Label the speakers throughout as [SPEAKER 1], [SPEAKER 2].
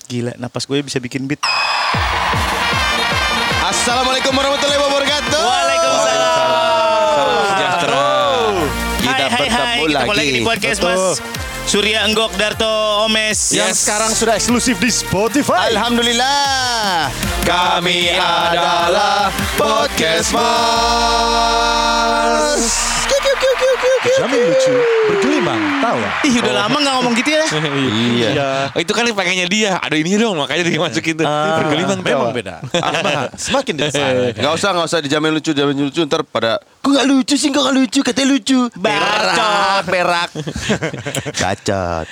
[SPEAKER 1] Gila, napas gue bisa bikin beat.
[SPEAKER 2] Assalamualaikum warahmatullahi wabarakatuh.
[SPEAKER 1] Waalaikumsalam.
[SPEAKER 3] Salam sejahtera.
[SPEAKER 2] Kita bertemu
[SPEAKER 1] Kita
[SPEAKER 2] lagi.
[SPEAKER 1] di podcast Mas Surya Enggok Darto Omes.
[SPEAKER 3] Yes.
[SPEAKER 4] Sekarang sudah eksklusif di Spotify.
[SPEAKER 2] Alhamdulillah.
[SPEAKER 3] Kami adalah Podcast Mas.
[SPEAKER 4] Jamin lucu, bergelimang tawa.
[SPEAKER 1] Ih, udah lama gak ngomong gitu ya.
[SPEAKER 2] Iya.
[SPEAKER 3] Oh, itu kan pengennya dia. Ada ini dong, makanya dia masukin tuh. Bergelimang
[SPEAKER 4] Memang
[SPEAKER 3] tawa.
[SPEAKER 4] beda. Semakin desain.
[SPEAKER 2] Gak usah dijamin lucu ntar pada kok gak lucu sih, kok gak lucu, katanya lucu.
[SPEAKER 1] Bacot.
[SPEAKER 2] Perak. Bacot.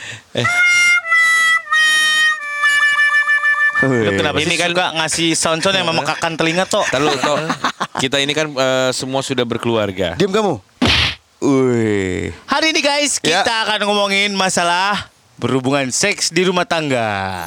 [SPEAKER 1] Lu kenapa
[SPEAKER 3] Ini
[SPEAKER 1] sih
[SPEAKER 3] kan-
[SPEAKER 1] suka ngasih sound-sound yang memekakan telinga toh?
[SPEAKER 3] Tahu toh. Kita ini kan semua sudah berkeluarga.
[SPEAKER 2] Diam kamu. Wih.
[SPEAKER 1] Hari ini guys,
[SPEAKER 2] Ya.
[SPEAKER 1] kita akan ngomongin masalah berhubungan seks di rumah tangga.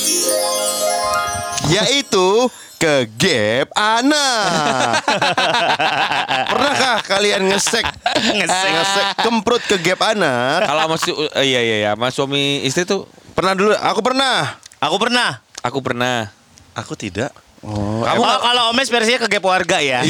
[SPEAKER 2] Yaitu ke gap anak. Pernahkah kalian ngesek kemprut ke gap anak?
[SPEAKER 3] Kalau masih iya, Mas suami istri tuh
[SPEAKER 2] Pernah dulu, aku pernah.
[SPEAKER 1] Aku pernah.
[SPEAKER 3] aku pernah.
[SPEAKER 4] Aku tidak.
[SPEAKER 2] Kamu
[SPEAKER 1] Kalau Omes versinya ke gap warga ya.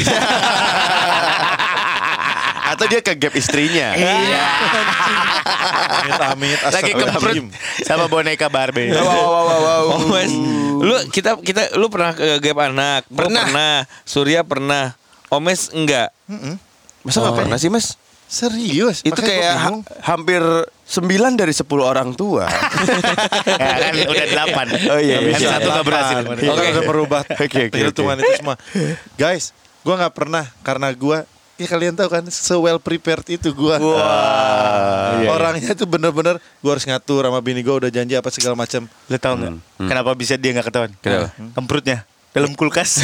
[SPEAKER 2] atau dia ke gap istrinya?
[SPEAKER 1] Iya.
[SPEAKER 4] Amit-amit.
[SPEAKER 1] Lagi kemprut sama boneka Barbie.
[SPEAKER 2] Wow.
[SPEAKER 3] Oh, Mas. Lu pernah ke gap anak? Gua
[SPEAKER 2] Pernah.
[SPEAKER 3] pernah. Surya pernah. Omes enggak.
[SPEAKER 2] Masa nggak pernah sih, Mas?
[SPEAKER 4] Serius.
[SPEAKER 2] Itu
[SPEAKER 4] Makanya
[SPEAKER 2] kayak
[SPEAKER 4] gua bingung.
[SPEAKER 2] hampir 9 dari 10 orang tua.
[SPEAKER 1] Ya kan udah 8.
[SPEAKER 2] Oh, iya,
[SPEAKER 1] Kan
[SPEAKER 2] bisa.
[SPEAKER 1] satu nggak berhasil.
[SPEAKER 4] Kita udah merubah
[SPEAKER 2] Oke.
[SPEAKER 4] perhitungan itu semua. Guys, gue nggak pernah karena gue, ya kalian tahu kan, well prepared itu gue. Orangnya tuh bener-bener gue harus ngatur sama bini gue, udah janji apa segala macam.
[SPEAKER 1] Lu tau nggak? Kenapa bisa dia nggak ketahuan?
[SPEAKER 2] Kenapa?
[SPEAKER 1] Kemprutnya dalam kulkas.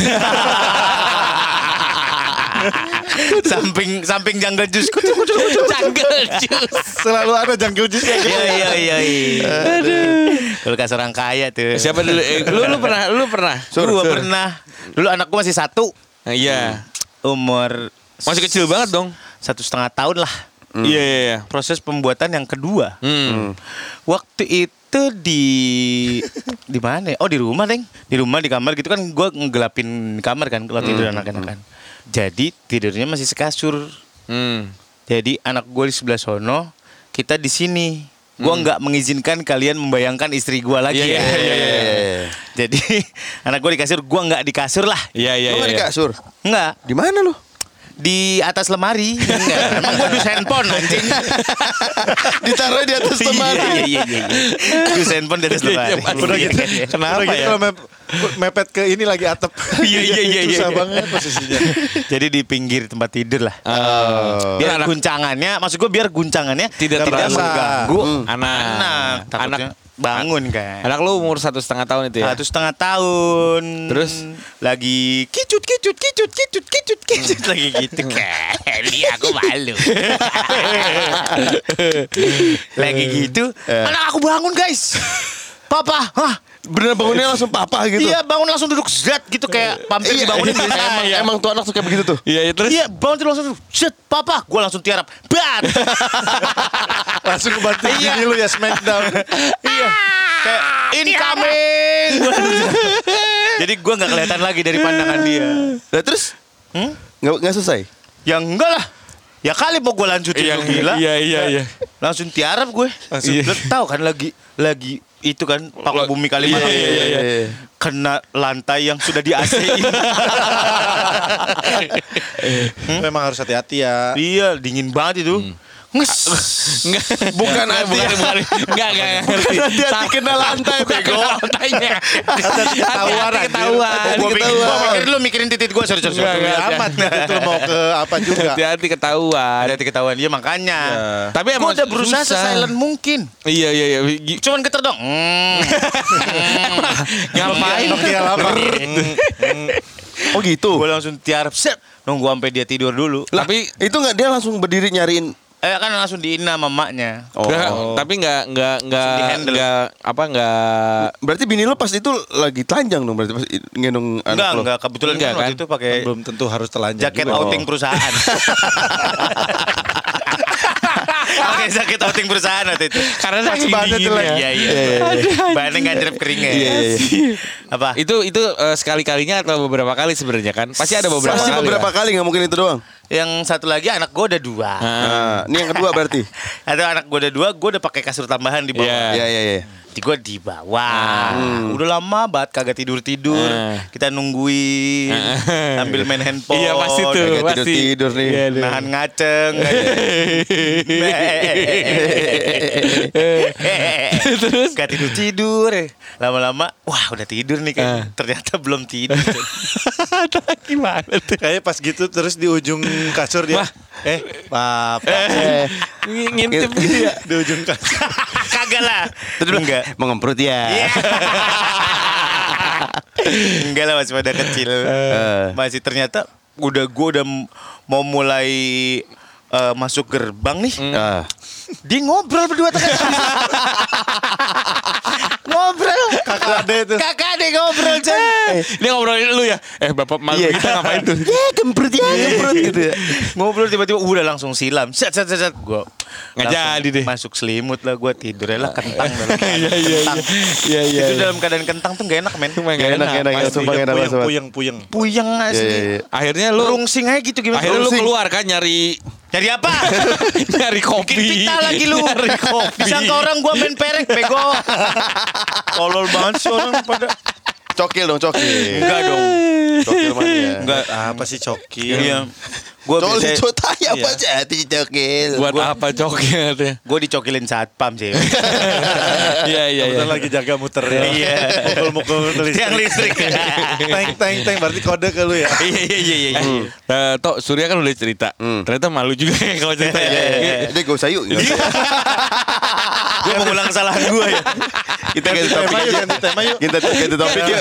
[SPEAKER 1] samping jungle juice. Jungle juice.
[SPEAKER 4] Selalu ada jungle juice ya.
[SPEAKER 1] Iya. Kulkas orang kaya tuh.
[SPEAKER 3] Siapa dulu? Lu pernah?
[SPEAKER 1] Gua pernah. Dulu anakku masih 1.
[SPEAKER 3] Nah, iya.
[SPEAKER 1] Umur
[SPEAKER 3] Masih kecil banget dong.
[SPEAKER 1] 1,5 tahun lah.
[SPEAKER 3] Iya.
[SPEAKER 1] Proses pembuatan yang kedua. Waktu itu di mana? Ya? Oh, di rumah, Deng. Di rumah di kamar gitu kan gua ngegelapin kamar kan kalau tidur anak-anak kan. Jadi tidurnya masih sekasur. Jadi anak gue di sebelah sono, kita di sini. Gue nggak mengizinkan kalian membayangkan istri gue lagi.
[SPEAKER 3] Iya.
[SPEAKER 1] Jadi anak gue di kasur, gue nggak di kasur lah.
[SPEAKER 3] Iya.
[SPEAKER 2] Lu nggak di kasur?
[SPEAKER 1] Nggak,
[SPEAKER 2] Di mana lu?
[SPEAKER 1] di atas lemari. Nggak. Emang gue dus handphone anjing.
[SPEAKER 2] Ditaruh di atas lemari.
[SPEAKER 1] Iya. Dus handphone di atas lemari.
[SPEAKER 4] Udah gitu.
[SPEAKER 3] Kenapa
[SPEAKER 4] Udah gitu
[SPEAKER 3] ya?
[SPEAKER 4] kalau mepet ke ini lagi atap.
[SPEAKER 3] Iya.
[SPEAKER 4] Susah banget posisinya.
[SPEAKER 1] Jadi di pinggir tempat tidur lah. Biar
[SPEAKER 3] Anak-
[SPEAKER 1] guncangannya, maksud gue biar guncangannya
[SPEAKER 3] Tidak
[SPEAKER 4] terasa.
[SPEAKER 1] mengganggu
[SPEAKER 3] Anak.
[SPEAKER 1] Takutnya bangun kan.
[SPEAKER 3] Anak lu umur 1,5 tahun itu ya?
[SPEAKER 1] 1,5 tahun.
[SPEAKER 3] Terus?
[SPEAKER 1] Lagi kicut lagi gitu kan. Aku malu. Lagi gitu. Anak aku bangun guys. Papa,
[SPEAKER 2] Bener bangunnya langsung papa gitu.
[SPEAKER 1] iya bangun langsung duduk zat gitu kayak pampir dibangunin gitu.
[SPEAKER 2] Emang tuh anak suka begitu tuh.
[SPEAKER 3] Iya, terus?
[SPEAKER 1] Iya bangun tidur langsung duduk zat papa. Gue langsung tiarap. Bat.
[SPEAKER 4] Langsung kebanting gini lu ya smackdown.
[SPEAKER 1] Iya. Kayak incoming. Jadi gue nggak kelihatan lagi dari pandangan dia.
[SPEAKER 2] Nah terus? Nggak selesai?
[SPEAKER 1] Ya enggak lah. Ya kali mau gue lanjutin lu gila.
[SPEAKER 3] Iya.
[SPEAKER 1] Langsung tiarap gue. Lu tahu kan lagi itu kan Paku Bumi Kalimantan.
[SPEAKER 2] Iya.
[SPEAKER 1] Kena lantai yang sudah di AC-in.
[SPEAKER 4] Memang harus hati-hati ya.
[SPEAKER 1] Iya, dingin banget itu. Nges.
[SPEAKER 3] Enggak.
[SPEAKER 2] Bukan
[SPEAKER 3] Enggak ngerti.
[SPEAKER 2] hati-hati kena lantai bego.
[SPEAKER 3] Lantainya.
[SPEAKER 4] Ketahuan anjir.
[SPEAKER 3] Ketahuan.
[SPEAKER 1] Gue pikir lu mikirin titik gue. Sorry.
[SPEAKER 4] Enggak amat gitu lu mau ke apa juga.
[SPEAKER 3] Hati-hati ketahuan.
[SPEAKER 1] Ada ketahuan dia makanya.
[SPEAKER 3] Tapi
[SPEAKER 1] Gue
[SPEAKER 3] emang
[SPEAKER 1] udah berusaha
[SPEAKER 3] susah.
[SPEAKER 1] silent mungkin.
[SPEAKER 3] Iya.
[SPEAKER 1] Cuman geter dong.
[SPEAKER 3] Ngapain?
[SPEAKER 4] Nokia lama.
[SPEAKER 2] Oh gitu.
[SPEAKER 1] Gue langsung tiarap. Set. Nunggu sampai dia tidur dulu.
[SPEAKER 3] Tapi
[SPEAKER 2] Itu nggak dia langsung berdiri nyariin.
[SPEAKER 1] Kan langsung diina sama maknya.
[SPEAKER 3] tapi enggak
[SPEAKER 1] di-handle.
[SPEAKER 2] Berarti bini lo pas itu lagi telanjang dong, berarti pas ngendong anak lo.
[SPEAKER 1] Enggak, kebetulan
[SPEAKER 3] Enggak,
[SPEAKER 1] kan waktu
[SPEAKER 3] kan?
[SPEAKER 1] itu pakai
[SPEAKER 4] Belum tentu harus telanjang
[SPEAKER 1] jaket
[SPEAKER 4] juga.
[SPEAKER 1] outing perusahaan. Oke, sakit outing perusahaan waktu itu.
[SPEAKER 3] Karena saking
[SPEAKER 4] banget tuh,
[SPEAKER 3] dinginnya.
[SPEAKER 1] Iya. Bahannya ngadrep keringnya. Apa?
[SPEAKER 3] Itu sekali-kalinya atau beberapa kali sebenarnya kan? Pasti ada beberapa
[SPEAKER 2] Pasti
[SPEAKER 3] kali.
[SPEAKER 2] beberapa kali nggak mungkin itu doang.
[SPEAKER 1] Yang satu lagi anak gue udah 2.
[SPEAKER 2] Nah, ini yang kedua berarti.
[SPEAKER 1] Atau anak gue udah 2, gue udah pakai kasur tambahan di bawah.
[SPEAKER 3] Iya.
[SPEAKER 2] Iya.
[SPEAKER 1] Di gue di bawah. Udah lama banget kagak tidur. Kita nungguin sambil main handphone.
[SPEAKER 3] Iya, pasti tuh.
[SPEAKER 2] Kayak
[SPEAKER 3] Pasti.
[SPEAKER 2] tidur nih.
[SPEAKER 3] Iya, tuh.
[SPEAKER 1] Nahan ngaceng. Terus gak tidur. Lama-lama wah udah tidur nih kan. Ternyata belum tidur.
[SPEAKER 3] Gimana tuh?
[SPEAKER 4] Kayaknya pas gitu terus di ujung kasur dia. Papa.
[SPEAKER 3] Ngintip gitu ya.
[SPEAKER 4] Di ujung kasur.
[SPEAKER 1] Kagak lah. Enggak.
[SPEAKER 2] Mau ngemprut ya.
[SPEAKER 1] Enggak lah, masih pada kecil. Masih ternyata gue udah mau mulai masuk gerbang nih. Dia ngobrol berdua tengah. Ngobrol. Kakak ade ngobrol coy.
[SPEAKER 3] Dia ngobrolin lu ya. Bapak malu
[SPEAKER 2] Iya.
[SPEAKER 3] kita ngapain tuh?
[SPEAKER 2] Gemprut gitu ya.
[SPEAKER 1] Ngobrol tiba-tiba udah langsung silam. Set. Gue
[SPEAKER 3] Nggak jadi deh.
[SPEAKER 1] masuk selimut lah, gue tidur lah kentang dalam keadaan
[SPEAKER 3] Iya.
[SPEAKER 1] kentang.
[SPEAKER 3] Iya.
[SPEAKER 1] Itu dalam keadaan kentang tuh gak enak men.
[SPEAKER 3] Nggak
[SPEAKER 2] Enak. Sumpah enak banget.
[SPEAKER 4] Puyeng.
[SPEAKER 1] Puyeng asli.
[SPEAKER 2] Iya.
[SPEAKER 3] Akhirnya lu
[SPEAKER 1] Rungsing aja gitu gimana?
[SPEAKER 3] Akhirnya lu
[SPEAKER 1] Rungsing.
[SPEAKER 3] keluar kan nyari
[SPEAKER 1] Cari apa?
[SPEAKER 3] nyari kopi.
[SPEAKER 1] Bikin pita lagi lu.
[SPEAKER 3] Nyari kopi.
[SPEAKER 1] Disangka orang gua main perek bego. Tolol banget sih orang pada.
[SPEAKER 2] Cokil dong, cokil.
[SPEAKER 1] Enggak dong.
[SPEAKER 2] Cokil mania.
[SPEAKER 1] Enggak.
[SPEAKER 4] Apa sih cokil?
[SPEAKER 1] Iya. Gua
[SPEAKER 2] Cokil
[SPEAKER 1] biasa
[SPEAKER 2] cotaya apa jadi cokil.
[SPEAKER 3] Buat apa coknya tuh?
[SPEAKER 1] gua dicokilin satpam sih.
[SPEAKER 3] Iya.
[SPEAKER 4] Kebetulan lagi jaga muter ya.
[SPEAKER 1] Iya.
[SPEAKER 4] Mukul-mukul
[SPEAKER 1] Tiang listrik.
[SPEAKER 4] Teng berarti kode ke lu ya.
[SPEAKER 1] Iya.
[SPEAKER 3] Tok Surya kan udah cerita. Ternyata malu juga ya kalau cerita.
[SPEAKER 2] Dia gak usah yuk.
[SPEAKER 1] Gua mengulang kesalahan gua ya.
[SPEAKER 2] Kita ganti topik aja.
[SPEAKER 4] Ganti tema yuk.
[SPEAKER 2] Kita ganti topik yuk.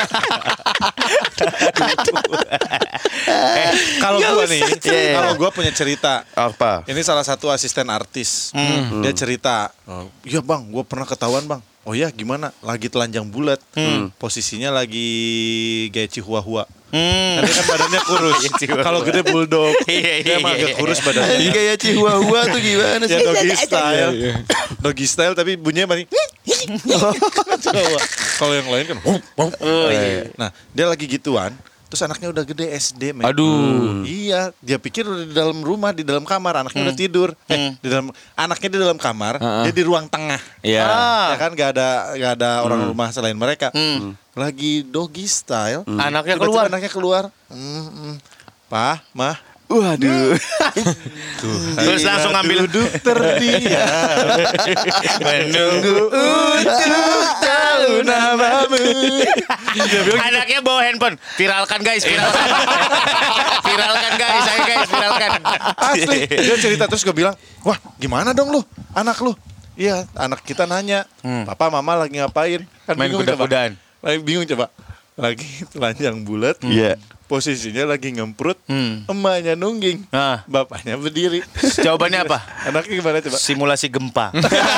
[SPEAKER 4] Kalau gua nih,
[SPEAKER 2] Iya.
[SPEAKER 4] kalau gua punya cerita.
[SPEAKER 2] Apa?
[SPEAKER 4] Ini salah satu asisten artis. Dia cerita, iya bang, gue pernah ketahuan bang. Oh ya gimana? Lagi telanjang bulat. Posisinya lagi kayak Chihuahua. Tapi kan badannya kurus. Kalau gede bulldog. Dia emang agak kurus badannya.
[SPEAKER 2] Kayak Chihuahua tuh gimana sih?
[SPEAKER 4] Ya doggy style. Doggy style tapi bunyinya masih. Kalau yang lain kan. Nah dia lagi gituan. Terus anaknya udah gede SD, men.
[SPEAKER 3] Aduh.
[SPEAKER 4] Iya, dia pikir udah di dalam rumah, di dalam kamar, anaknya udah tidur. Anaknya di dalam kamar, dia di ruang tengah.
[SPEAKER 3] Iya.
[SPEAKER 4] Ya kan gak ada orang rumah selain mereka. Lagi doggy style.
[SPEAKER 1] Anaknya
[SPEAKER 4] Tiba-tiba
[SPEAKER 1] keluar.
[SPEAKER 4] Anaknya keluar. Pah, mah.
[SPEAKER 2] Waduh.
[SPEAKER 1] Terus langsung ambil
[SPEAKER 4] Duduk terdiam.
[SPEAKER 1] menunggu untuk tahu namamu. Anaknya bawa handphone. Viralkan guys. Viralkan guys.
[SPEAKER 4] Asli. Dia cerita terus gue bilang, wah gimana dong lu, anak lu? Iya, anak kita nanya, papa mama lagi ngapain? Kan
[SPEAKER 1] Main
[SPEAKER 4] bingung
[SPEAKER 1] kuda-kudaan.
[SPEAKER 4] coba. Bingung coba. Lagi telanjang bulat.
[SPEAKER 2] Iya.
[SPEAKER 4] Posisinya lagi ngemprut, emaknya nungging,
[SPEAKER 1] Nah.
[SPEAKER 4] bapaknya berdiri.
[SPEAKER 1] Jawabannya apa?
[SPEAKER 4] Anaknya gimana coba?
[SPEAKER 1] Simulasi gempa.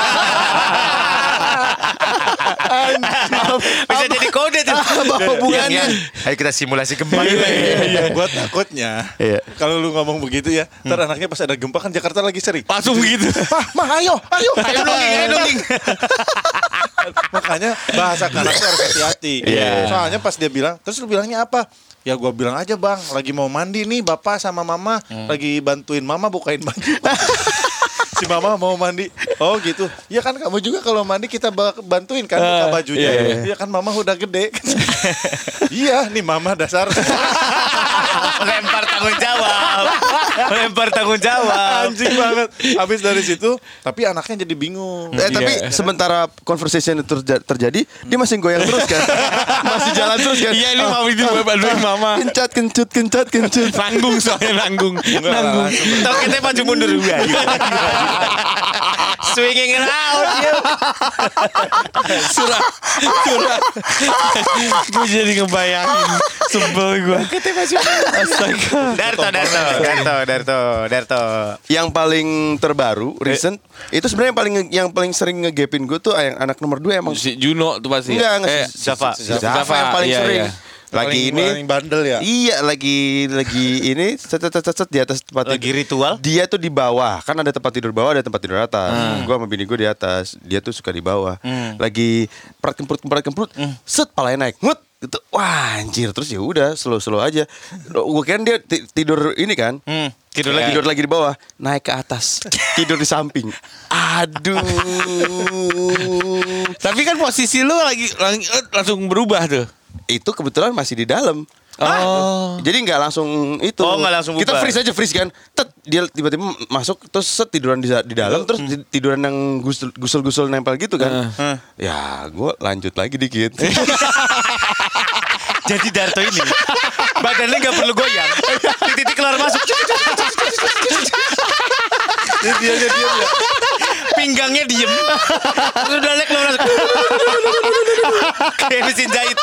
[SPEAKER 1] Bisa jadi kode tuh.
[SPEAKER 2] Apa hubungannya?
[SPEAKER 1] Ayo kita simulasi gempa.
[SPEAKER 4] Iya, gue takutnya
[SPEAKER 2] Iya.
[SPEAKER 4] kalau lu ngomong begitu ya, ntar anaknya pas ada gempa kan Jakarta lagi sering.
[SPEAKER 3] Langsung begitu.
[SPEAKER 4] Mah ayo.
[SPEAKER 1] Ayo dongeng.
[SPEAKER 4] Makanya bahasa kanak tuh harus hati-hati.
[SPEAKER 2] Iya.
[SPEAKER 4] Soalnya pas dia bilang, terus lu bilangnya apa? Ya gua bilang aja bang, lagi mau mandi nih bapak sama mama, lagi bantuin mama bukain baju. Si mama mau mandi. Oh gitu. Ya kan kamu juga kalau mandi kita bantuin kan buka bajunya. Iya kan mama udah gede. Iya nih mama dasar.
[SPEAKER 1] Lempar tanggung jawab.
[SPEAKER 4] Anjing banget. Habis dari situ, tapi anaknya jadi bingung.
[SPEAKER 2] Tapi sementara conversation itu terjadi, dia masih goyang terus kan? Masih jalan terus kan?
[SPEAKER 3] Iya ini mau itu bantuin mama.
[SPEAKER 2] Kencut.
[SPEAKER 3] Nanggung soalnya nanggung.
[SPEAKER 1] Tahu kita maju mundur juga. Swinging around.
[SPEAKER 3] Surah. Gue jadi ngebayangin. Sebel gue. Astaga.
[SPEAKER 1] Darto.
[SPEAKER 2] Yang paling terbaru, recent, itu sebenarnya yang paling sering ngegapin gue tuh yang anak nomor 2 emang.
[SPEAKER 3] Si Juno tuh pasti.
[SPEAKER 2] Enggak,
[SPEAKER 3] Eh,
[SPEAKER 2] Zafa yang paling
[SPEAKER 3] Iya,
[SPEAKER 2] sering.
[SPEAKER 3] iya.
[SPEAKER 2] Lagi ini
[SPEAKER 4] paling bandel ya.
[SPEAKER 2] Iya, lagi ini set di atas tempat
[SPEAKER 1] Lagi ritual.
[SPEAKER 2] Dia tuh di bawah, kan ada tempat tidur bawah, ada tempat tidur atas. Gua sama bini gue di atas, dia tuh suka di bawah. Lagi kemprut, set palanya naik, mut gitu. Wah, anjir, terus ya udah slow aja. Gue kira dia tidur ini kan.
[SPEAKER 1] Tidur
[SPEAKER 2] Lagi di bawah, naik ke atas, tidur di samping. Aduh.
[SPEAKER 3] Tapi kan posisi lu lagi langsung berubah tuh.
[SPEAKER 2] Itu kebetulan masih di dalam.
[SPEAKER 3] Oh.
[SPEAKER 2] Jadi nggak langsung itu.
[SPEAKER 1] Oh, nggak langsung
[SPEAKER 2] Kita
[SPEAKER 1] bubar.
[SPEAKER 2] freeze kan. Dia tiba-tiba masuk terus tiduran di dalam terus tiduran yang gusul-gusul nempel gitu kan. Ya, gue lanjut lagi dikit.
[SPEAKER 1] Jadi Darto ini badannya nggak perlu goyang. Titik keluar masuk.
[SPEAKER 4] Dia diam ya.
[SPEAKER 1] Pinggangnya diem. Terus udah keluar masuk. Kayak mesin jahit.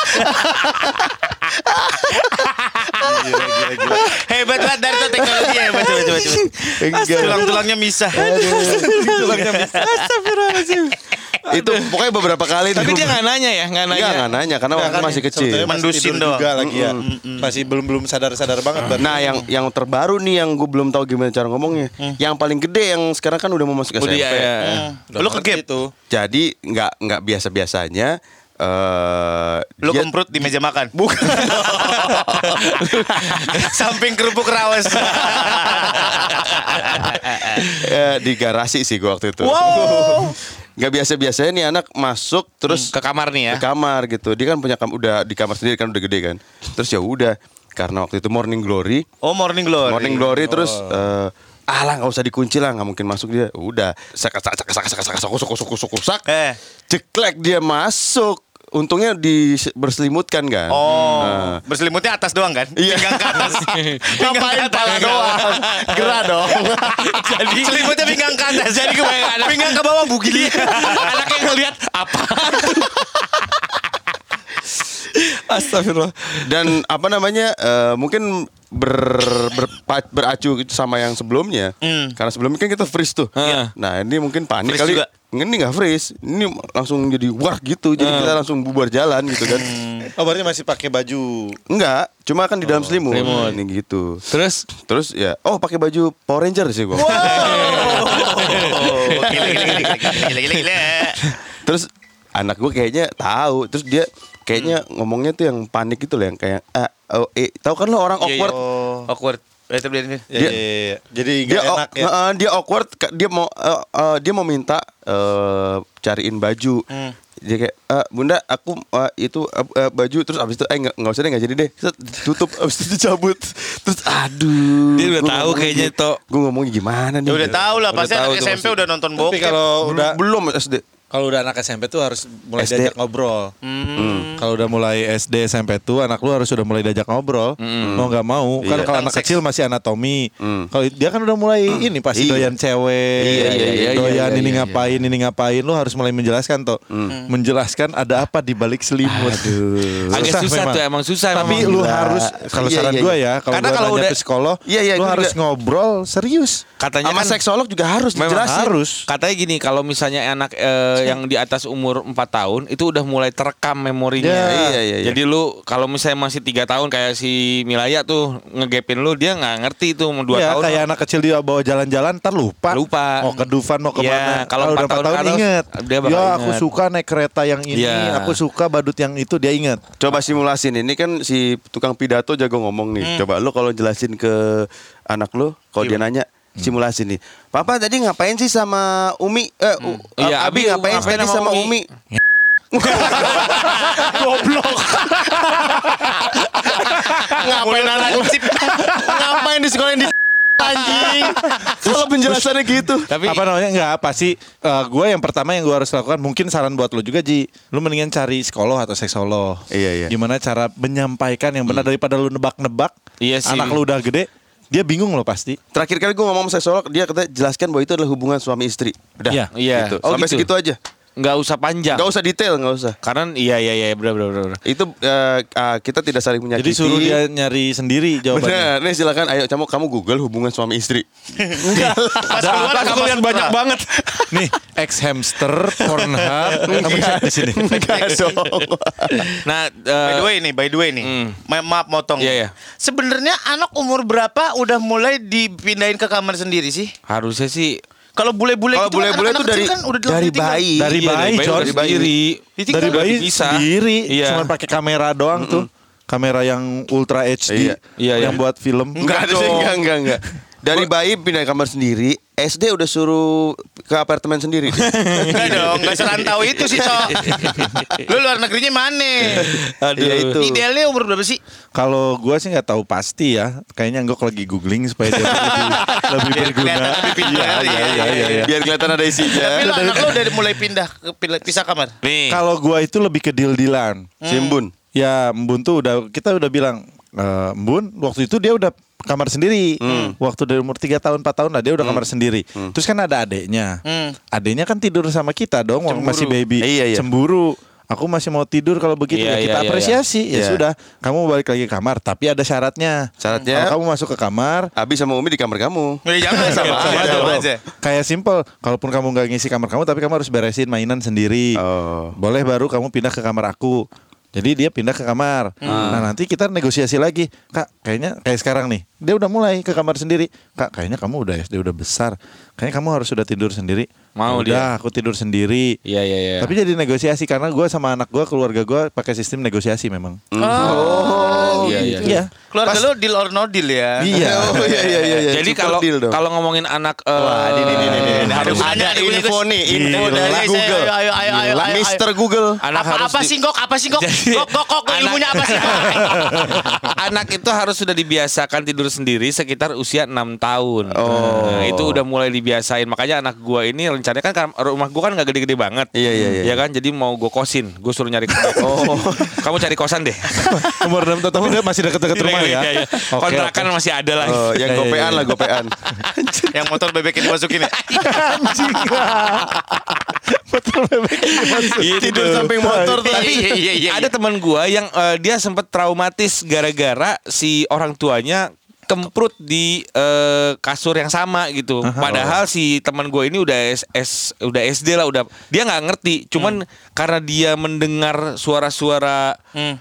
[SPEAKER 4] Gila.
[SPEAKER 1] Hebat banget Darto, teknologi hebat. Coba. Tulang-tulangnya misah.
[SPEAKER 4] Tulangnya bisa.
[SPEAKER 3] Astagfirullahaladzim.
[SPEAKER 2] Itu pokoknya beberapa kali.
[SPEAKER 3] Tapi dia nggak nanya ya, nggak nanya.
[SPEAKER 2] Nggak nanya karena waktu masih kecil.
[SPEAKER 4] Sebetulnya masih
[SPEAKER 1] Mendusin
[SPEAKER 4] tidur
[SPEAKER 1] doang.
[SPEAKER 4] juga lagi ya. Masih belum sadar banget. berarti.
[SPEAKER 2] Nah, yang terbaru nih yang gue belum tahu gimana cara ngomongnya. Yang paling gede yang sekarang kan udah mau masuk SMP.
[SPEAKER 3] Udah ya.
[SPEAKER 4] Udah
[SPEAKER 1] Lu
[SPEAKER 4] ngerti
[SPEAKER 1] kegep
[SPEAKER 4] itu.
[SPEAKER 2] Jadi nggak biasa-biasanya.
[SPEAKER 1] Lu
[SPEAKER 2] dia-
[SPEAKER 1] kemprut di meja makan.
[SPEAKER 2] Bukan.
[SPEAKER 1] Samping kerupuk rawas.
[SPEAKER 2] Di garasi sih gue waktu itu.
[SPEAKER 1] Wow.
[SPEAKER 2] Gak biasa-biasanya nih anak masuk terus
[SPEAKER 3] Ke kamar nih ya.
[SPEAKER 2] ke kamar gitu. Dia kan punya udah di kamar sendiri kan udah gede kan. Terus ya udah karena waktu itu Morning Glory.
[SPEAKER 1] Oh, Morning Glory.
[SPEAKER 2] Morning Glory terus alah nggak usah dikunci lah, nggak mungkin masuk dia. Udah sak ceklek dia masuk. Untungnya berselimutkan kan.
[SPEAKER 1] Oh, berselimutnya atas doang kan?
[SPEAKER 2] Iya.
[SPEAKER 1] Pinggang ke atas.
[SPEAKER 2] Ngapain pala doang? Gerah dong.
[SPEAKER 1] Jadi selimutnya pinggang ke atas. Jadi kebayang anak pinggang ke bawah bugil. Anaknya ngeliat apa?
[SPEAKER 3] Astagfirullah.
[SPEAKER 2] Dan apa namanya mungkin beracu sama yang sebelumnya. Karena sebelumnya kan kita freeze tuh. Nah ini mungkin panik
[SPEAKER 1] Freeze
[SPEAKER 2] kali.
[SPEAKER 1] juga.
[SPEAKER 2] Ini nggak freeze. Ini langsung jadi wah gitu. Jadi kita langsung bubar jalan gitu kan.
[SPEAKER 4] Oh berarti masih pakai baju.
[SPEAKER 2] Enggak, cuma kan di dalam selimut.
[SPEAKER 3] selimut.
[SPEAKER 2] Ini gitu.
[SPEAKER 3] Terus
[SPEAKER 2] Ya, pakai baju Power Ranger sih gua.
[SPEAKER 1] Gila.
[SPEAKER 2] Terus anak gue kayaknya tahu. Terus dia kayaknya ngomongnya tuh yang panik gitu loh, yang kayak tahu kan lo orang awkward.
[SPEAKER 1] Awkward. Itu dia.
[SPEAKER 4] Iya. Jadi
[SPEAKER 2] Dia
[SPEAKER 4] nggak enak ya.
[SPEAKER 2] dia awkward, dia mau minta cariin baju. Dia kayak bunda aku itu baju, terus abis itu nggak usah deh, nggak jadi deh. Set, tutup abis itu dicabut. Terus aduh.
[SPEAKER 3] Dia udah tahu kayaknya, Tok.
[SPEAKER 2] Gue ngomongnya gimana nih?
[SPEAKER 1] Ya udah tahu lah, pasti
[SPEAKER 3] tahu
[SPEAKER 1] anak
[SPEAKER 3] tuh
[SPEAKER 1] SMP udah nonton
[SPEAKER 4] Tapi
[SPEAKER 1] bokep.
[SPEAKER 4] kalau udah
[SPEAKER 2] Belum SD.
[SPEAKER 4] Kalau udah anak SMP tuh harus mulai
[SPEAKER 2] SD.
[SPEAKER 4] diajak ngobrol. Kalau udah mulai SD SMP tuh anak lu harus sudah mulai diajak ngobrol. Mau nggak mau. Kan
[SPEAKER 2] Iya.
[SPEAKER 4] kalau anak kecil masih anatomi. Kalau dia kan udah mulai ini pasti
[SPEAKER 2] Iya.
[SPEAKER 4] doyan cewek.
[SPEAKER 2] Iya,
[SPEAKER 4] doyan
[SPEAKER 2] iya,
[SPEAKER 4] ini
[SPEAKER 2] iya.
[SPEAKER 4] ngapain. Lu harus mulai menjelaskan toh. Menjelaskan ada apa di balik selimut.
[SPEAKER 3] agak susah tuh, emang susah.
[SPEAKER 4] Tapi
[SPEAKER 3] memang.
[SPEAKER 4] lu harus kalau
[SPEAKER 2] Iya,
[SPEAKER 4] saran
[SPEAKER 2] iya,
[SPEAKER 4] gue
[SPEAKER 2] iya.
[SPEAKER 4] ya, kalau
[SPEAKER 3] Karena
[SPEAKER 4] gua
[SPEAKER 3] kalau
[SPEAKER 4] nanya
[SPEAKER 3] udah-
[SPEAKER 4] ke psikolog,
[SPEAKER 2] Iya, iya,
[SPEAKER 4] lu
[SPEAKER 2] gua
[SPEAKER 4] harus
[SPEAKER 2] juga.
[SPEAKER 4] ngobrol serius.
[SPEAKER 3] katanya
[SPEAKER 2] Sama
[SPEAKER 3] kan
[SPEAKER 2] seksolog juga harus
[SPEAKER 3] memang
[SPEAKER 2] dijelasin.
[SPEAKER 4] harus.
[SPEAKER 3] Katanya gini, kalau misalnya anak yang di atas umur 4 tahun itu udah mulai terekam memorinya.
[SPEAKER 2] Ya. Iya.
[SPEAKER 3] Jadi lu kalau misalnya masih 3 tahun kayak si Milaya tuh ngegepin lu, dia nggak ngerti tuh mau 2
[SPEAKER 4] Ya,
[SPEAKER 3] tahun.
[SPEAKER 4] kayak anak kecil dia bawa jalan-jalan ntar lupa.
[SPEAKER 3] Lupa.
[SPEAKER 4] Mau ke Dufan mau
[SPEAKER 3] Iya,
[SPEAKER 4] kemana.
[SPEAKER 3] kalau
[SPEAKER 4] udah
[SPEAKER 3] 4 tahun ke atas,
[SPEAKER 4] inget.
[SPEAKER 3] dia bakal
[SPEAKER 4] Ya aku
[SPEAKER 3] inget.
[SPEAKER 4] suka naik kereta yang ini.
[SPEAKER 3] Iya.
[SPEAKER 4] Aku suka badut yang itu, dia inget.
[SPEAKER 2] Coba simulasin, ini kan si tukang pidato jago ngomong nih. Coba lu kalau jelasin ke anak lu, kalau dia nanya simulasi nih. Papa tadi ngapain sih sama Umi?
[SPEAKER 3] Iya,
[SPEAKER 2] Abi ngapain
[SPEAKER 3] ngapain
[SPEAKER 2] tadi
[SPEAKER 3] sama
[SPEAKER 2] sama Umi?
[SPEAKER 1] Goblok.
[SPEAKER 2] Ngapain anak sip? Ngapain di sekolah di anjing? Kalau penjelasannya gitu.
[SPEAKER 3] Tapi
[SPEAKER 4] Apa namanya? Enggak, pasti gue yang pertama yang gue harus lakukan, mungkin saran buat lo juga Ji. Lu mendingan cari psikolog atau seksolog.
[SPEAKER 2] Iya.
[SPEAKER 4] Gimana cara menyampaikan yang benar daripada lu nebak-nebak.
[SPEAKER 3] Iya sih.
[SPEAKER 4] Anak lu udah gede, dia bingung lo pasti.
[SPEAKER 2] Terakhir kali gue ngomong sama seksolog, dia kata jelaskan bahwa itu adalah hubungan suami istri. Udah.
[SPEAKER 4] Iya.
[SPEAKER 3] Iya.
[SPEAKER 2] Gitu.
[SPEAKER 3] Oh,
[SPEAKER 2] Sampai
[SPEAKER 3] gitu.
[SPEAKER 2] segitu aja.
[SPEAKER 3] nggak usah panjang.
[SPEAKER 2] Nggak usah detail, nggak usah.
[SPEAKER 3] Karena iya benar.
[SPEAKER 2] Itu kita tidak saling menyakiti.
[SPEAKER 4] Jadi suruh dia nyari sendiri jawabannya.
[SPEAKER 2] Bener, nih silakan. Ayo kamu Google hubungan suami istri.
[SPEAKER 3] Pas aku lihat banyak banget.
[SPEAKER 4] Nih, ex hamster, Pornhub, kamu cek di sini.
[SPEAKER 2] Enggak dong.
[SPEAKER 3] Nah,
[SPEAKER 1] By the way nih. Maaf motong.
[SPEAKER 3] Iya.
[SPEAKER 1] Sebenarnya anak umur berapa udah mulai dipindahin ke kamar sendiri sih?
[SPEAKER 3] harusnya sih
[SPEAKER 1] Kalau bule-bule
[SPEAKER 2] Kalau
[SPEAKER 1] gitu kan
[SPEAKER 2] bule-bule
[SPEAKER 1] anak-anak
[SPEAKER 2] tuh
[SPEAKER 1] kecil kan udah
[SPEAKER 2] dari
[SPEAKER 1] ditinggal.
[SPEAKER 2] bayi.
[SPEAKER 4] Dari
[SPEAKER 3] Iya,
[SPEAKER 4] bayi, John.
[SPEAKER 3] udah sendiri.
[SPEAKER 1] Ditinggal.
[SPEAKER 4] Dari bayi
[SPEAKER 3] bisa.
[SPEAKER 4] sendiri,
[SPEAKER 3] Iya.
[SPEAKER 4] cuma pakai kamera doang tuh. Kamera yang Ultra HD
[SPEAKER 3] Iya.
[SPEAKER 4] yang buat film.
[SPEAKER 2] Enggak sih, enggak. Dari bayi pindah kamar sendiri, SD udah suruh ke apartemen sendiri.
[SPEAKER 1] Enggak dong, enggak serantau itu sih, Cok. Lu luar negerinya mana?
[SPEAKER 3] aduh.
[SPEAKER 2] Iya, itu.
[SPEAKER 1] Idealnya umur berapa sih?
[SPEAKER 4] Kalau gua sih nggak tahu pasti ya. Kayaknya Anggok lagi googling supaya dia lebih berguna.
[SPEAKER 1] kelihatan lebih pindah.
[SPEAKER 4] Iya.
[SPEAKER 2] Biar kelihatan ada isinya.
[SPEAKER 1] Tapi lo anak lo udah mulai pindah ke pisah kamar.
[SPEAKER 3] Nih.
[SPEAKER 4] Kalau gua itu lebih ke deal-dealan.
[SPEAKER 2] Simbun.
[SPEAKER 4] Ya, Mbun tuh kita udah bilang, Mbun waktu itu dia udah kamar sendiri. Waktu dari umur 3 tahun 4 tahun lah dia udah kamar sendiri. Terus kan ada adeknya. Adeknya kan tidur sama kita dong waktu masih baby.
[SPEAKER 2] Iya.
[SPEAKER 4] Cemburu. Aku masih mau tidur kalau begitu.
[SPEAKER 3] Iya,
[SPEAKER 4] Ya kita
[SPEAKER 3] iya,
[SPEAKER 4] apresiasi. Ya
[SPEAKER 2] Iya.
[SPEAKER 4] sudah, kamu balik lagi ke kamar, tapi ada syaratnya.
[SPEAKER 2] Syaratnya?
[SPEAKER 4] Kalau kamu masuk ke kamar,
[SPEAKER 2] Abi sama Umi di kamar kamu.
[SPEAKER 1] Jangan sama aja.
[SPEAKER 4] kayak simple. Kalaupun kamu nggak ngisi kamar kamu, tapi kamu harus beresin mainan sendiri.
[SPEAKER 2] Oh.
[SPEAKER 4] Boleh baru kamu pindah ke kamar aku. Jadi dia pindah ke kamar. Nah nanti kita negosiasi lagi. Kak, kayaknya kayak sekarang nih. Dia udah mulai ke kamar sendiri. Kak, kayaknya kamu udah SD udah besar. Kayaknya kamu harus sudah tidur sendiri.
[SPEAKER 3] Mau
[SPEAKER 4] udah, aku tidur sendiri.
[SPEAKER 3] Iya.
[SPEAKER 4] Tapi jadi negosiasi karena gue sama anak gue, keluarga gue pakai sistem negosiasi memang.
[SPEAKER 1] Oh,
[SPEAKER 3] Iya.
[SPEAKER 4] Iya.
[SPEAKER 1] Keluarga lo deal or no deal ya?
[SPEAKER 4] Iya.
[SPEAKER 2] Oh iya.
[SPEAKER 3] Jadi
[SPEAKER 2] Super deal dong.
[SPEAKER 3] kalau ngomongin anak
[SPEAKER 2] Wah, ini.
[SPEAKER 1] Harus
[SPEAKER 2] Ada info nih, info
[SPEAKER 1] Gila.
[SPEAKER 2] dari Google.
[SPEAKER 1] Ayo.
[SPEAKER 2] Mister Google.
[SPEAKER 1] Apa sih Gok? Apa sih Gok? Gok ilmunya apa sih?
[SPEAKER 3] anak itu harus sudah dibiasakan tidur sendiri sekitar usia 6 tahun. Nah, itu udah mulai dibiasain. Makanya anak gua ini rencananya kan rumah gua kan nggak gede-gede banget.
[SPEAKER 2] Iya.
[SPEAKER 3] Ya kan, jadi mau gua kosin. Gua suruh nyari kamu cari kosan deh.
[SPEAKER 4] Umur 6 tahun dia masih dekat-dekat rumah ya.
[SPEAKER 3] Iya. Kontrakan masih ada lah.
[SPEAKER 2] Oh, yang
[SPEAKER 4] Iya,
[SPEAKER 2] gopean
[SPEAKER 4] iya.
[SPEAKER 2] lah, gopean.
[SPEAKER 1] Yang motor bebek ini masukin ya?
[SPEAKER 4] Anjing. Betul bebek dimasukin.
[SPEAKER 2] Tidur samping motor tuh.
[SPEAKER 3] Tapi
[SPEAKER 1] Iya.
[SPEAKER 3] ada teman gua yang dia sempat traumatis gara-gara si orang tuanya kemprut di kasur yang sama gitu. Padahal si teman gue ini udah SD lah, udah dia nggak ngerti. Cuman karena dia mendengar suara-suara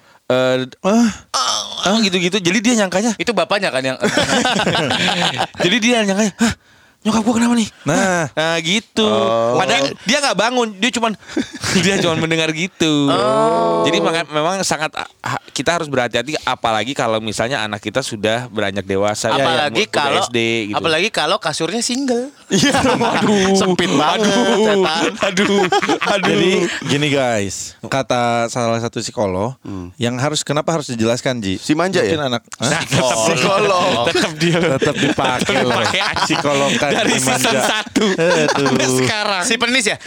[SPEAKER 3] gitu-gitu, jadi dia nyangkanya.
[SPEAKER 1] Itu bapaknya kan yang
[SPEAKER 3] Jadi dia nyangkanya, hah, nyokap gue kenapa nih?
[SPEAKER 4] Nah,
[SPEAKER 3] Gitu. Padahal dia nggak bangun, dia cuma mendengar gitu. Jadi memang sangat kita harus berhati-hati, apalagi kalau misalnya anak kita sudah beranjak dewasa.
[SPEAKER 1] apalagi
[SPEAKER 3] udah
[SPEAKER 1] kalau
[SPEAKER 3] SD gitu.
[SPEAKER 1] apalagi kalau kasurnya single.
[SPEAKER 2] Iya. Waduh, sempit banget.
[SPEAKER 3] Aduh.
[SPEAKER 4] jadi gini guys, kata salah satu psikolog yang kenapa harus dijelaskan Ji?
[SPEAKER 2] Si manja ya?
[SPEAKER 4] Mungkin anak
[SPEAKER 2] Psikolog.
[SPEAKER 4] tetap dipakai loh. Psikolog kan
[SPEAKER 3] Dari
[SPEAKER 4] si manja.
[SPEAKER 3] season 1 sampai
[SPEAKER 4] Aduh.
[SPEAKER 3] sekarang.
[SPEAKER 1] Si penis ya?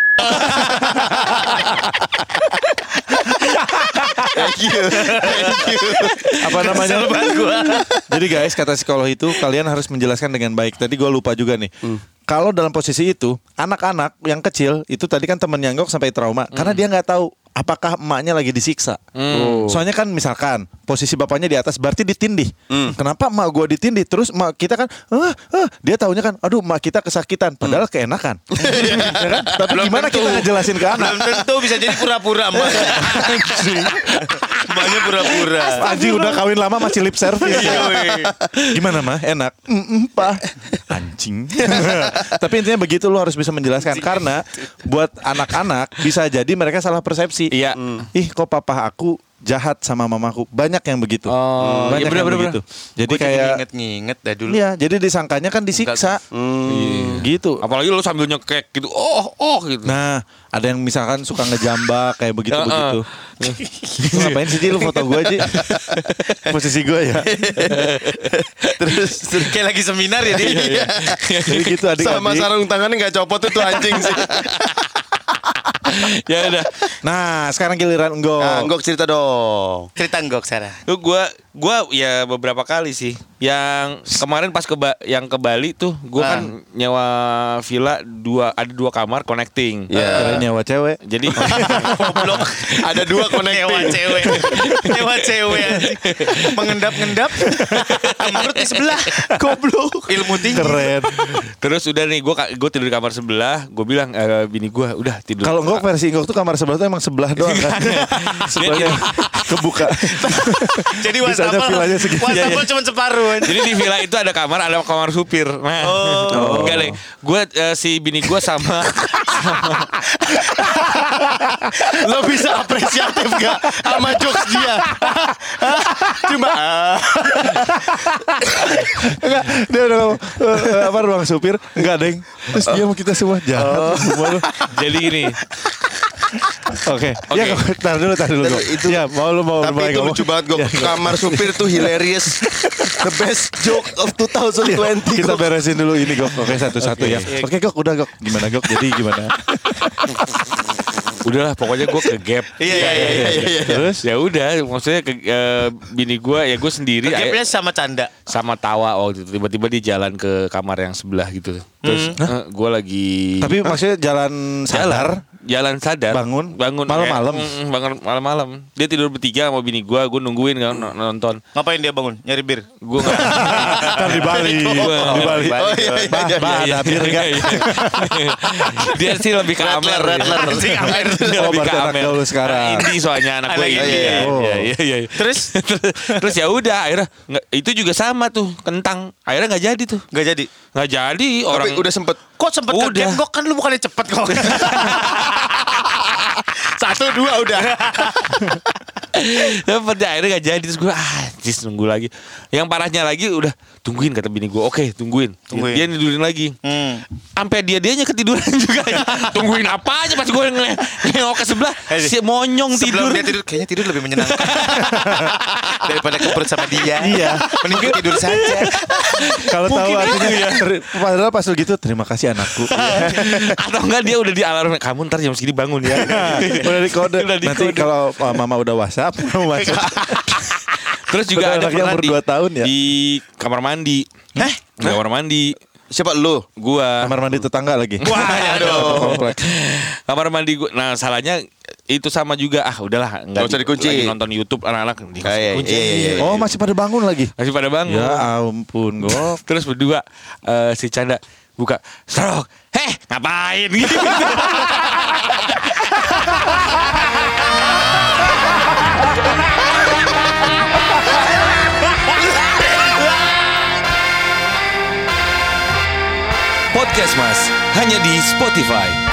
[SPEAKER 2] Thank you.
[SPEAKER 4] Apa namanya? Jadi guys, kata psikolog itu kalian harus menjelaskan dengan baik. Tadi gue lupa juga nih. Kalau dalam posisi itu, anak-anak yang kecil itu tadi kan temen Yanggok sampai trauma karena dia nggak tahu apakah emaknya lagi disiksa. Soalnya kan misalkan posisi bapaknya di atas berarti ditindih. Kenapa emak gua ditindih? Terus emak kita kan dia taunya kan aduh emak kita kesakitan padahal keenakan. Ya kan? Tapi gimana kita ngejelasin ke anak?
[SPEAKER 1] Belum tentu bisa jadi pura-pura emak. Emaknya pura-pura.
[SPEAKER 4] Anjing udah kawin lama masih lip service. Gimana mah? Enak. Pak. Anjing. Tapi intinya begitu, lo harus bisa menjelaskan karena buat anak-anak bisa jadi mereka salah persepsi.
[SPEAKER 3] Iya.
[SPEAKER 4] Ih, kok papa aku jahat sama mamaku. Banyak yang begitu. Banyak
[SPEAKER 3] iya,
[SPEAKER 4] yang
[SPEAKER 3] bener.
[SPEAKER 4] begitu. Jadi
[SPEAKER 1] Gua
[SPEAKER 4] kayak
[SPEAKER 1] nginget dah dulu.
[SPEAKER 4] iya, jadi disangkanya kan disiksa. Gitu.
[SPEAKER 3] Apalagi lu sambil nyekek gitu. Gitu.
[SPEAKER 4] Nah, ada yang misalkan suka ngejambak kayak begitu-begitu. Lu ngapain sih Ji, lu foto gue Ji? Posisi gue ya.
[SPEAKER 1] Terus kayak lagi seminar ya dia.
[SPEAKER 4] Jadi gitu
[SPEAKER 2] Sama
[SPEAKER 4] adik-adik.
[SPEAKER 2] sarung tangannya nggak copot tuh anjing sih.
[SPEAKER 3] Ya udah.
[SPEAKER 4] Nah, sekarang giliran Enggok.
[SPEAKER 2] Nah, Gok cerita dong.
[SPEAKER 1] Cerita Gok Sarah.
[SPEAKER 3] Lu gue Gua ya beberapa kali sih. Yang kemarin pas yang ke Bali tuh, gua kan nyewa villa ada 2 kamar connecting.
[SPEAKER 4] Kira nyewa cewek.
[SPEAKER 3] Jadi
[SPEAKER 1] Goblok.
[SPEAKER 2] Ada 2 connecting.
[SPEAKER 1] Nyewa cewek anjing. Mengendap-ngendap. Kamar di sebelah. Goblok. Ilmu tinggi.
[SPEAKER 4] Keren.
[SPEAKER 3] terus udah nih gua tidur di kamar sebelah, gua bilang bini gua udah tidur.
[SPEAKER 4] Kalau Ngok versi Ngok tuh kamar sebelah tuh emang sebelah doang kan. Sebelahnya kebuka.
[SPEAKER 1] Jadi
[SPEAKER 4] Bisanya villanya segitu.
[SPEAKER 1] wastafel cuma separuh anjing.
[SPEAKER 3] Jadi di villa itu ada kamar supir. Nah, enggak deh. Gue si bini gue sama
[SPEAKER 2] Lo bisa apresiatif gak sama jokes dia? Cuma
[SPEAKER 4] Enggak, dia udah ngomong, apa ruang supir? Enggak, Deng. Terus dia mau kita semua jahat semua lu.
[SPEAKER 3] jadi gini.
[SPEAKER 4] Oke. Ya, tar dulu Ngok.
[SPEAKER 2] Itu-
[SPEAKER 4] Ya, mau
[SPEAKER 2] tapi itu
[SPEAKER 4] ngomong.
[SPEAKER 2] lucu banget gue. Kamar supir tuh hilarious. The best joke of 2020.
[SPEAKER 4] Kita beresin dulu ini Gok. Oke, satu-satu ya. Oke, Gok, udah Gok. Gimana Gok? Jadi gimana?
[SPEAKER 3] Udahlah pokoknya gue ke gap.
[SPEAKER 2] Iya.
[SPEAKER 4] Terus?
[SPEAKER 3] Ya udah, maksudnya bini gue ya gue sendiri
[SPEAKER 1] Gapnya sama canda.
[SPEAKER 3] sama tawa waktu itu tiba-tiba dia jalan ke kamar yang sebelah gitu. Terus gue lagi
[SPEAKER 4] Tapi maksudnya jalan sadar.
[SPEAKER 3] jalan sadar
[SPEAKER 4] Bangun? Malam-malam?
[SPEAKER 3] bangun malam-malam. Dia tidur bertiga sama bini gue nungguin kan nonton.
[SPEAKER 1] Ngapain dia bangun? Nyari bir.
[SPEAKER 3] Gue nggak
[SPEAKER 4] Kan di Bali. Di Bali.
[SPEAKER 2] Oh iya.
[SPEAKER 4] Bah, ada bir enggak?
[SPEAKER 3] Dia sih lebih ke Amer.
[SPEAKER 2] Rattler.
[SPEAKER 3] Dia
[SPEAKER 4] Oh,
[SPEAKER 3] lebih ke
[SPEAKER 4] berarti anak
[SPEAKER 3] Amer.
[SPEAKER 4] gaul sekarang.
[SPEAKER 3] Indie soalnya anak gue
[SPEAKER 1] Anak
[SPEAKER 3] indie.
[SPEAKER 1] indie.
[SPEAKER 4] Oh.
[SPEAKER 3] Iya.
[SPEAKER 1] Terus
[SPEAKER 3] Terus ya udah akhirnya itu juga sama tuh kentang. Akhirnya nggak jadi tuh.
[SPEAKER 1] nggak jadi.
[SPEAKER 3] Nggak jadi orang
[SPEAKER 2] Tapi udah sempet.
[SPEAKER 1] Kok sempet
[SPEAKER 3] Udah.
[SPEAKER 1] ke gap? Kok kan lu bukannya cepet kok.
[SPEAKER 2] 1, 2 udah.
[SPEAKER 3] Dapet deh, akhirnya gak jadi. Terus gue nunggu lagi. Yang parahnya lagi udah tungguin kata bini gue. Oke tungguin. Dia tidurin lagi. Sampai dianya ketiduran juga. Tungguin apa aja pas gue nengok ke sebelah. Si monyong
[SPEAKER 1] Sebelum
[SPEAKER 3] tidur.
[SPEAKER 1] dia tidur, kayaknya tidur lebih menyenangkan daripada keperut sama dia.
[SPEAKER 4] Iya.
[SPEAKER 1] Mending gue tidur saja.
[SPEAKER 4] Kalau tahu artinya padahal pas lu gitu, terima kasih anakku.
[SPEAKER 3] Atau enggak dia udah di alarm. Kamu ntar jam segini bangun ya.
[SPEAKER 4] Udah di kode.
[SPEAKER 3] Udah di
[SPEAKER 4] Nanti
[SPEAKER 3] kode.
[SPEAKER 4] kalau mama udah WhatsApp, mau masuk.
[SPEAKER 3] Terus juga
[SPEAKER 4] Padahal
[SPEAKER 3] ada
[SPEAKER 4] anaknya
[SPEAKER 3] pernah
[SPEAKER 4] umur 2 tahun ya?
[SPEAKER 3] di kamar mandi. Di kamar mandi.
[SPEAKER 2] Siapa lu?
[SPEAKER 3] Gua.
[SPEAKER 4] Kamar mandi tetangga lagi.
[SPEAKER 1] Wah, aduh.
[SPEAKER 4] Kompleks.
[SPEAKER 3] Kamar mandi gua. Nah, salahnya itu sama juga. Udahlah,
[SPEAKER 2] Nggak usah dikunci.
[SPEAKER 3] Lagi nonton YouTube anak-anak dikunci.
[SPEAKER 2] Iya.
[SPEAKER 4] Oh, masih pada bangun lagi.
[SPEAKER 3] Masih pada bangun.
[SPEAKER 4] Ya ampun, Gok.
[SPEAKER 3] Terus berdua si Canda buka stroke. Ngapain gitu. Podcast Mas hanya di Spotify.